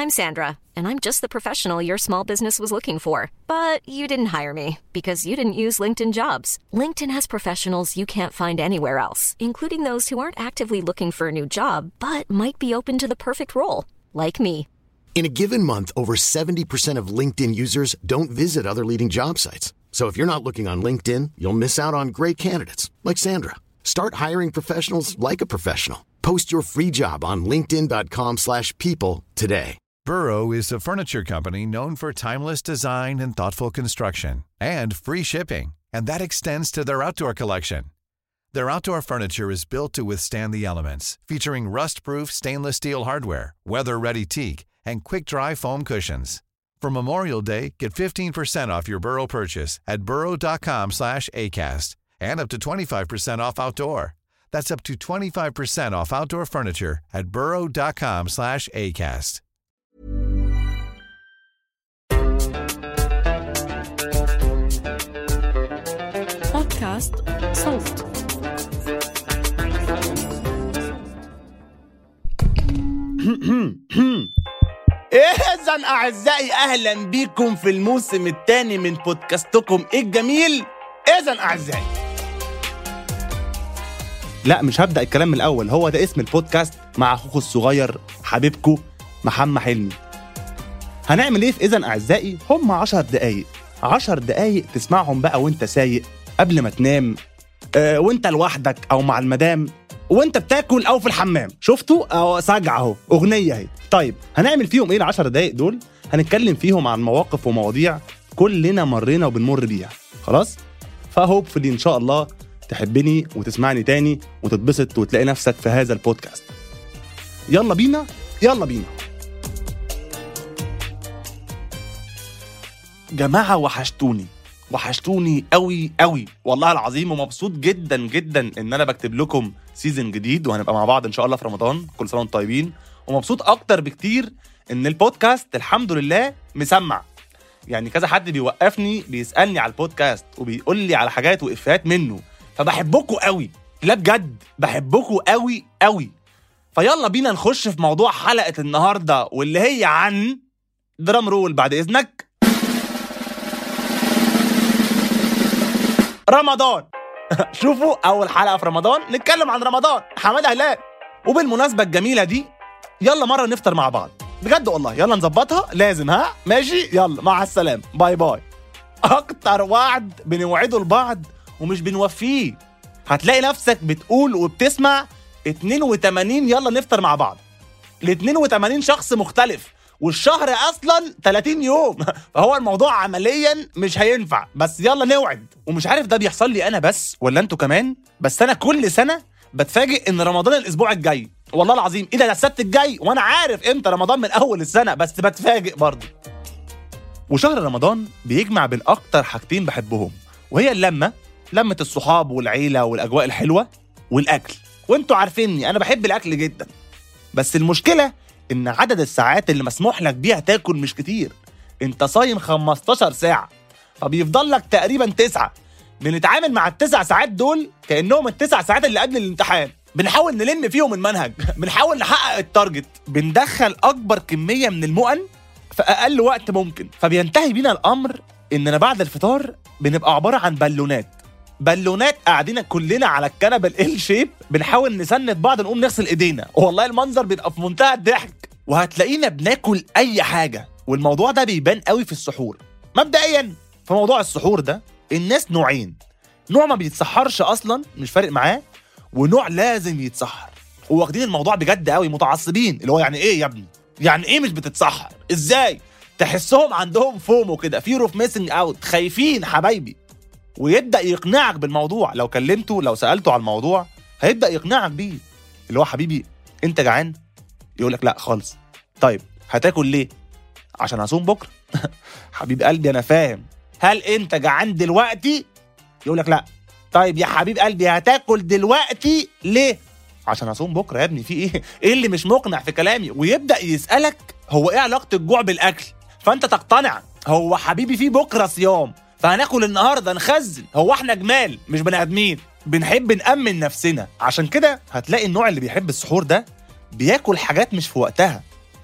I'm Sandra, and I'm just the professional your small business was looking for. But you didn't hire me because you didn't use LinkedIn Jobs. LinkedIn has professionals you can't find anywhere else, including those who aren't actively looking for a new job, but might be open to the perfect role, like me. In a given month, over 70% of LinkedIn users don't visit other leading job sites. So if you're not looking on LinkedIn, you'll miss out on great candidates like Sandra. Start hiring professionals like a professional. Post your free job on linkedin.com/people today. Burrow is a furniture company known for timeless design and thoughtful construction and free shipping, and that extends to their outdoor collection. Their outdoor furniture is built to withstand the elements, featuring rust-proof stainless steel hardware, weather-ready teak, and quick-dry foam cushions. For Memorial Day, get 15% off your Burrow purchase at burrow.com/acast and up to 25% off outdoor. That's up to 25% off outdoor furniture at burrow.com/acast. بودكاست صوت. إذن أعزائي أهلا بكم في الموسم الثاني من بودكاستكم الجميل. إذن أعزائي، لا مش هبدأ الكلام من الأول، هو ده اسم البودكاست مع أخوكم الصغير حبيبكم محمد حلمي. هنعمل إيه في إذن أعزائي؟ هم 10 دقايق تسمعهم بقى وانت سايق، قبل ما تنام، وانت لوحدك أو مع المدام، وانت بتاكل أو في الحمام. شفتوا؟ أو سجع أهو أغنية اهي. طيب هنعمل فيهم إيه ال10 دقايق دول؟ هنتكلم فيهم عن مواقف ومواضيع كلنا مرينا وبنمر بيها. خلاص؟ فهوبفلي إن شاء الله تحبني وتسمعني تاني وتتبسط وتلاقي نفسك في هذا البودكاست. يلا بينا. جماعة وحشتوني قوي والله العظيم، ومبسوط جدا ان انا بكتب لكم سيزن جديد وهنبقى مع بعض ان شاء الله في رمضان. كل سنة وانتم طيبين. ومبسوط اكتر بكتير ان البودكاست الحمد لله مسمع. يعني كذا حد بيوقفني بيسألني على البودكاست وبيقول لي على حاجات وإفيهات منه، فبحبكم قوي. لا بجد بحبكم قوي. فيلا بينا نخش في موضوع حلقة النهاردة، واللي هي عن درام رول بعد إذنك. رمضان. شوفوا أول حلقة في رمضان نتكلم عن رمضان، حمادة هلال. وبالمناسبة الجميلة دي يلا مرة نفطر مع بعض بجد والله، يلا نظبطها لازم. ها ماشي، يلا مع السلامة، باي. أكتر وعد بنوعده لبعض ومش بنوفيه. هتلاقي نفسك بتقول وبتسمع 82 يلا نفطر مع بعض ل 82 شخص مختلف، والشهر أصلا 30 يوم. فهو الموضوع عمليا مش هينفع، بس يلا نوعد. ومش عارف ده بيحصل لي أنا بس ولا أنتوا كمان، بس أنا كل سنة بتفاجئ إن رمضان الأسبوع الجاي. والله العظيم إيه ده السبت الجاي، وأنا عارف إمتى رمضان من أول السنة، بس بتفاجئ برضه. وشهر رمضان بيجمع بين أكتر حاجتين بحبهم، وهي لمة الصحاب والعيلة والأجواء الحلوة والأكل. وانتوا عارفيني أنا بحب الأكل جدا، بس المشكلة إن عدد الساعات اللي مسموح لك بيها تاكل مش كتير. انت صايم 15 ساعة، فبيفضل لك تقريبا 9. بنتعامل مع ال9 ساعات دول كأنهم ال9 ساعات اللي قبل الامتحان. بنحاول نلم فيهم المنهج، بنحاول نحقق التارجت، بندخل أكبر كمية من المؤن في أقل وقت ممكن. فبينتهي بينا الأمر إننا بعد الفطار بنبقى عبارة عن بالونات قاعدين كلنا على الكنبة ال شيب، بنحاول نسند بعض نقوم نغسل ايدينا. والله المنظر بيبقى في منتهى الضحك. وهتلاقينا بناكل اي حاجة، والموضوع ده بيبان قوي في السحور. مبدئيا في موضوع السحور ده الناس نوعين، نوع ما بيتسحرش اصلا مش فارق معاه، ونوع لازم يتسحر وواخدين الموضوع بجد قوي، متعصبين. اللي هو يعني ايه يا ابني، يعني ايه مش بتتسحر ازاي؟ تحسهم عندهم فومو كده، fear of missing out، خايفين حبايبي. ويبدأ يقنعك بالموضوع، لو كلمته لو سألته على الموضوع هيبدأ يقنعك بيه. اللي هو حبيبي انت جعان؟ يقولك لا خالص. طيب هتاكل ليه؟ عشان هصوم بكرة. حبيب قلبي انا فاهم. هل انت جعان دلوقتي؟ يقولك لا. طيب يا حبيب قلبي هتاكل دلوقتي ليه؟ عشان هصوم بكرة يا ابني، في ايه؟ ايه اللي مش مقنع في كلامي؟ ويبدأ يسألك هو ايه علاقة الجوع بالأكل؟ فانت تقتنع، هو حبيبي في بكرة صيام فهناكل النهاردة نخزن. هو احنا جمال مش بني ادمين، بنحب نأمن نفسنا. عشان كده هتلاقي النوع اللي بيحب السحور ده بياكل حاجات مش في وقتها،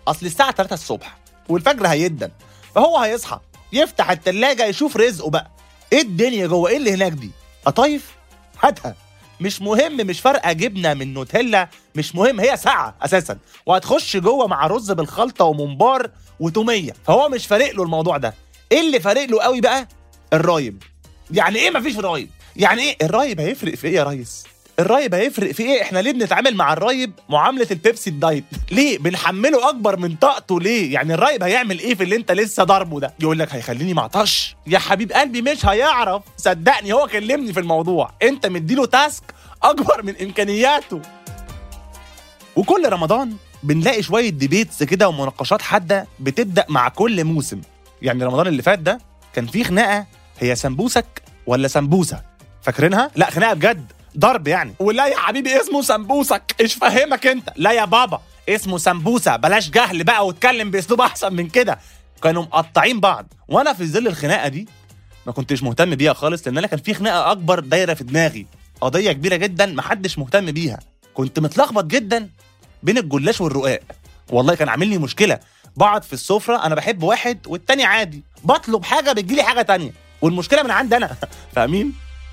اصل الساعه 3 الصبح والفجر هيدن، فهو هيصحى يفتح التلاجة يشوف رزقه بقى. ايه الدنيا جوه؟ ايه اللي هناك دي؟ قطايف هاتها، مش مهم، مش فارقه جبنه من نوتيلا، مش مهم، هي ساعه اساسا وهتخش جوه مع رز بالخلطه وممبار وتوميه، فهو مش فارق له الموضوع ده. ايه اللي فارق له قوي بقى؟ الرايب. يعني ايه مفيش رايب؟ يعني ايه الرايب هيفرق في ايه يا ريس؟ الرايب هيفرق في ايه؟ احنا ليه بنتعامل مع الرايب معامله البيبسي الدايت؟ ليه بنحمله اكبر من طاقته؟ ليه؟ يعني الرايب هيعمل ايه في اللي انت لسه ضاربه ده؟ يقول لك هيخليني معطش. يا حبيب قلبي مش هيعرف، صدقني، هو كلمني في الموضوع، انت مديله تاسك اكبر من امكانياته. وكل رمضان بنلاقي شويه ديبيتس كده ومناقشات حاده بتبدا مع كل موسم. يعني رمضان اللي فات ده كان فيه خناقه، هي سمبوسك ولا سمبوسه؟ فاكرينها؟ لا خناقه بجد، ضرب يعني. ولا يا حبيبي اسمه سمبوسك، ايش فهمك انت؟ لا يا بابا اسمه سمبوسه، بلاش جهل بقى واتكلم باسلوب احسن من كده. كانوا مقطعين بعض، وانا في ظل الخناقه دي ما كنتش مهتم بيها خالص، لان انا كان في خناقه اكبر دايره في دماغي، قضيه كبيره جدا محدش مهتم بيها. كنت متلخبط جدا بين الجلاش والرقاق، والله كان عامل لي مشكله. بقعد في السفره انا بحب واحد والتاني عادي، بطلب حاجه بتجيلي حاجه تانية، والمشكله من عندي انا. فاهمين؟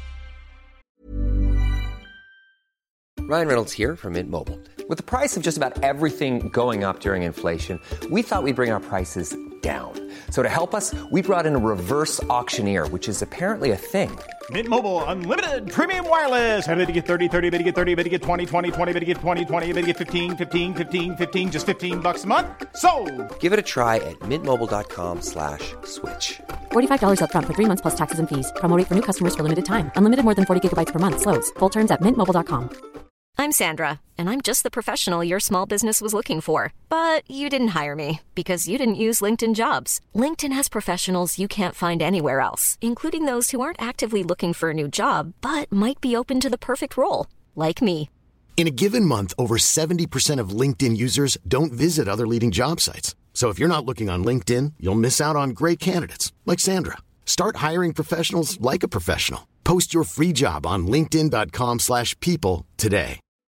Ryan Reynolds here from Mint Mobile. With the price of just about everything going up during inflation, we thought we'd bring our prices down. So to help us, we brought in a reverse auctioneer, which is apparently a thing. Mint Mobile Unlimited Premium Wireless. How to get 30, 30, how to get 30, how to get 20, 20, 20, how to get 20, 20, how to get 15, 15, 15, 15, just $15 a month? Sold! Give it a try at mintmobile.com/switch. $45 up front for 3 months plus taxes and fees. Promo rate for new customers for limited time. Unlimited more than 40 gigabytes per month. Slows full terms at mintmobile.com. I'm Sandra, and I'm just the professional your small business was looking for. But you didn't hire me because you didn't use LinkedIn Jobs. LinkedIn has professionals you can't find anywhere else, including those who aren't actively looking for a new job, but might be open to the perfect role, like me. In a given month, over 70% of LinkedIn users don't visit other leading job sites. So if you're not looking on LinkedIn, you'll miss out on great candidates like Sandra. Start hiring professionals like a professional. Post your free job on linkedin.com/people today.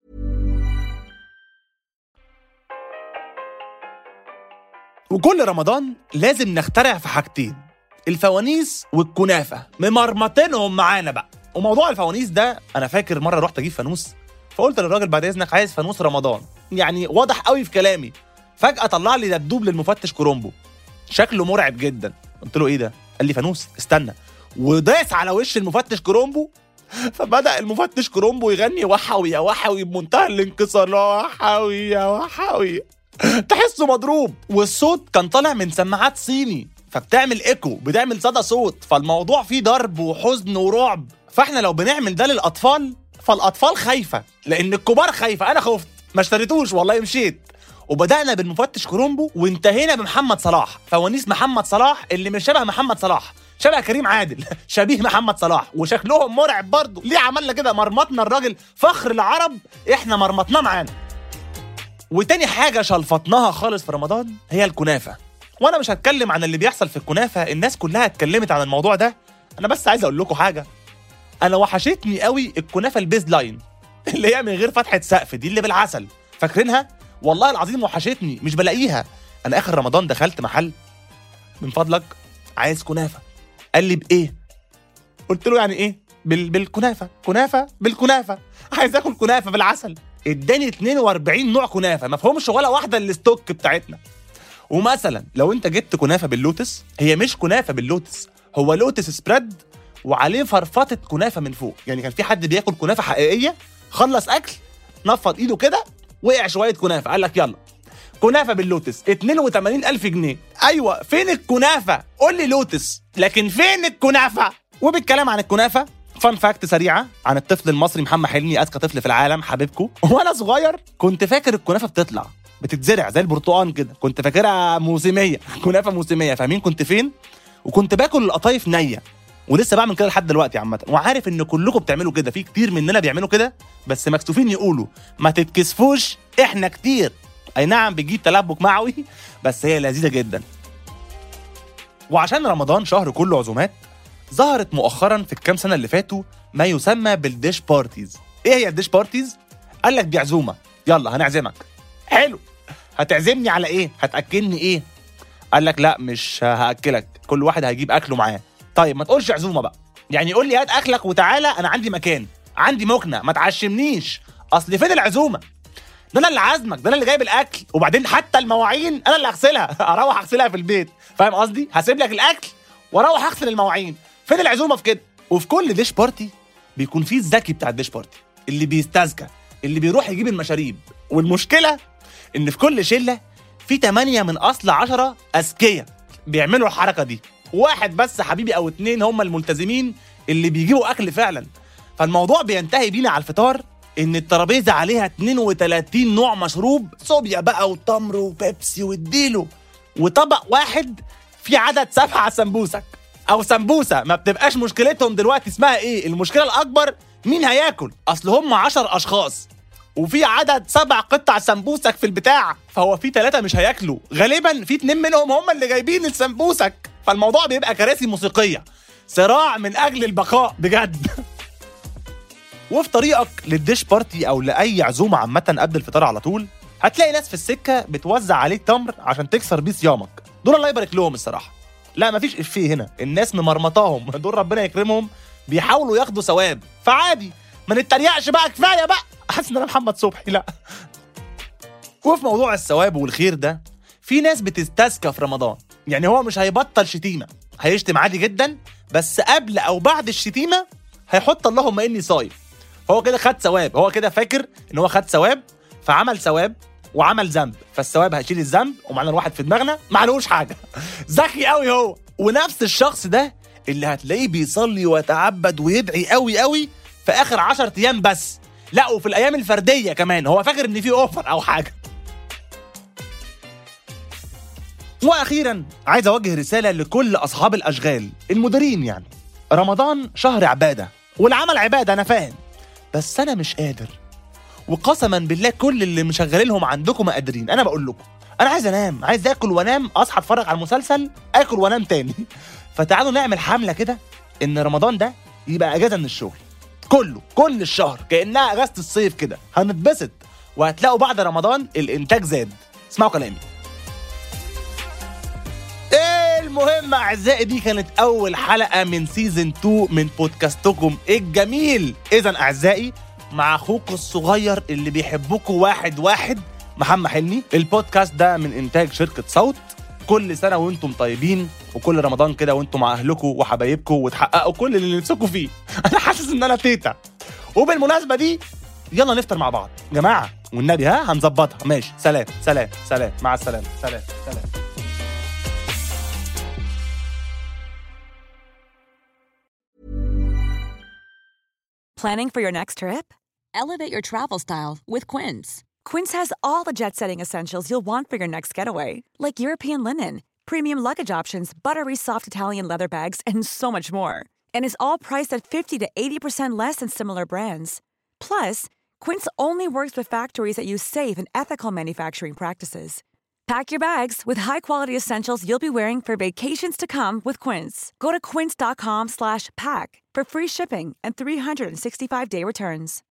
وكل رمضان لازم نخترع في حاجتين، الفوانيس والكنافه، ممرمطينهم معانا بقى. وموضوع الفوانيس ده انا فاكر مره رحت اجيب فانوس، فقلت للراجل بعد اذنك عايز فانوس رمضان، يعني واضح قوي في كلامي. فجاه طلع لي دبدوب للمفتش كرومبو شكله مرعب جدا. قلت له ايه ده؟ قال لي فانوس، استنى، وداس على وش المفتش كرومبو. فبدأ المفتش كرومبو يغني وحوي يا وحوي بمنتهى الانكسار، لا وحوي يا وحوي، تحسه مضروب. والصوت كان طالع من سماعات صيني فبتعمل ايكو، بتعمل صدى صوت، فالموضوع فيه ضرب وحزن ورعب. فاحنا لو بنعمل ده للاطفال فالاطفال خايفه، لان الكبار خايفه. انا خفت ما اشتريتوش والله، مشيت. وبدأنا بالمفتش كرومبو وانتهينا بمحمد صلاح، فوانيس محمد صلاح اللي مش شبه محمد صلاح، شبه كريم عادل، شبيه محمد صلاح، وشكلهم مرعب برضه. ليه عملنا كده؟ مرمطنا الراجل، فخر العرب، احنا مرمطناه معانا. وتاني حاجة شلفطناها خالص في رمضان هي الكنافة. وانا مش هتكلم عن اللي بيحصل في الكنافة، الناس كلها اتكلمت عن الموضوع ده. انا بس عايز اقول لكم حاجة، انا وحشتني قوي الكنافة البيز لاين اللي هي من غير فتحة سقف دي، اللي بالعسل، فاكرينها؟ والله العظيم وحشتني، مش بلاقيها. انا اخر رمضان دخلت محل، من فضلك عايز كنافة. قال لي بايه؟ قلت له يعني ايه؟ بالكنافة، كنافة بالكنافة، عايز اكل كنافة بالعسل. اداني 42 نوع كنافة، ما فهمش ولا واحدة الستوك بتاعتنا. ومثلا لو انت جبت كنافة باللوتس، هي مش كنافة باللوتس، هو لوتس سبريد وعليه فرفطة كنافة من فوق. يعني كان في حد بياكل كنافة حقيقية، خلص اكل، نفض ايده كده، وقع شوية كنافة، قال لك يلا كنافة باللوتس 82,000 جنيه. ايوه فين الكنافة؟ قول لي لوتس، لكن فين الكنافة؟ وبالكلام عن الكنافة، فان فاكت سريعة عن الطفل المصري محمد حلمي، أذكى طفل في العالم، حبيبكم. وانا صغير كنت فاكر الكنافة بتطلع بتتزرع زي البرتقال كده، كنت فاكرها موسمية، كنافة موسمية. فاهمين كنت فين؟ وكنت باكل القطايف نية، ولسه بعمل كده لحد دلوقتي عامة. وعارف ان كلكم بتعملوا كده، في كتير مننا بيعملوا كده، بس مكسوفين يقولوا. ما تتكسفوش، احنا كتير. اي نعم بتجيب تلبك معوي، بس هي لذيذة جدا. وعشان رمضان شهر كله عزومات، ظهرت مؤخرا في الكام سنة اللي فاتوا ما يسمى بالديش بارتيز. ايه هي الديش بارتيز؟ قال لك دي عزومة، يلا هنعزمك. حلو، هتعزمني على ايه؟ هتاكلني ايه؟ قال لك لا مش هاكلك، كل واحد هيجيب اكله معاه. طيب ما تقولش عزومه بقى، يعني قول لي هات اكلك وتعالى، انا عندي مكان، عندي مكنه، ما تعشمنيش. اصل فين العزومه؟ ده انا اللي عازمك، ده انا اللي جايب الاكل، وبعدين حتى المواعين انا اللي هغسلها. اروح اغسلها في البيت، فاهم قصدي؟ هسيب لك الاكل واروح اغسل المواعين. فين العزومه في كده؟ وفي كل ديش بارتي بيكون فيه الذكي بتاع الديش بارتي، اللي بيستذكى، اللي بيروح يجيب المشاريب. والمشكله ان في كل شله في 8 من اصل 10 اذكياء بيعملوا الحركه دي، واحد بس حبيبي او 2 هم الملتزمين اللي بيجيبوا اكل فعلا. فالموضوع بينتهي بينا على الفطار ان الترابيزه عليها 32 نوع مشروب، صوبيا بقى وتمر وبيبسي واديله، وطبق واحد في عدد 7 سمبوسك او سمبوسه. ما بتبقاش مشكلتهم دلوقتي اسمها ايه، المشكله الاكبر مين هياكل. اصل هم 10 اشخاص وفي عدد 7 قطع سمبوسك في البتاع، فهو في 3 مش هياكلوا، غالبا في 2 منهم هم اللي جايبين السمبوسك. فالموضوع بيبقى كراسي موسيقيه، صراع من اجل البقاء بجد. وفي طريقك للديش بارتي او لاي عزومه عامه قبل الفطار على طول هتلاقي ناس في السكه بتوزع عليك تمر عشان تكسر بيه صيامك. دول الله يبارك لهم الصراحه، لا مفيش افيه هنا، الناس ممرمطاهم. دول ربنا يكرمهم بيحاولوا ياخدوا ثواب، فعادي ما نتريقش بقى، كفايه بقى. حاسس ان انا محمد صبحي، لا. وفي موضوع الثواب والخير ده في ناس بتستذكى في رمضان، يعني هو مش هيبطل شتيمه، هيشتم عادي جدا، بس قبل او بعد الشتيمه هيحط اللهم اني صايم. فهو كده خد ثواب، هو كده فاكر ان هو خد ثواب، فعمل ثواب وعمل ذنب، فالثواب هيشيل الذنب، ومعنا الواحد في دماغنا ما عليهوش حاجه. ذكي قوي هو. ونفس الشخص ده اللي هتلاقيه بيصلي ويتعبد ويدعي قوي قوي في اخر 10 ايام بس، لا وفي الايام الفرديه كمان، هو فاكر ان في اوفر او حاجه. واخيرا عايز اوجه رساله لكل اصحاب الاشغال المديرين، يعني رمضان شهر عباده والعمل عباده، انا فاهم، بس انا مش قادر، وقسما بالله كل اللي مشغلينهم عندكم ما قادرين. انا بقول لكم انا عايز انام، عايز اكل وانام، اصحى اتفرج على المسلسل، اكل وانام تاني. فتعالوا نعمل حمله كده ان رمضان ده يبقى اجازه من الشغل كل الشهر، كانها اجازه الصيف كده، هنتبسط وهتلاقوا بعد رمضان الانتاج زاد. اسمعوا كلامي. المهم اعزائي، دي كانت اول حلقه من سيزن 2 من بودكاستكم الجميل. اذا اعزائي، مع اخوكم الصغير اللي بيحبكم واحد محمد حلمي. البودكاست ده من انتاج شركه صوت. كل سنه وانتم طيبين، وكل رمضان كده وانتم مع اهلكم وحبايبكم وتحققوا كل اللي نفسكم فيه. انا حاسس ان انا تيتا. وبالمناسبه دي يلا نفطر مع بعض جماعه والنبي، هنظبطها. ماشي، سلام سلام سلام، مع السلامه، سلام سلام. Planning for your next trip? Elevate your travel style with Quince. Quince has all the jet-setting essentials you'll want for your next getaway, like European linen, premium luggage options, buttery soft Italian leather bags, and so much more. And is all priced at 50 to 80% less than similar brands. Plus, Quince only works with factories that use safe and ethical manufacturing practices. Pack your bags with high-quality essentials you'll be wearing for vacations to come with Quince. Go to quince.com/pack for free shipping and 365-day returns.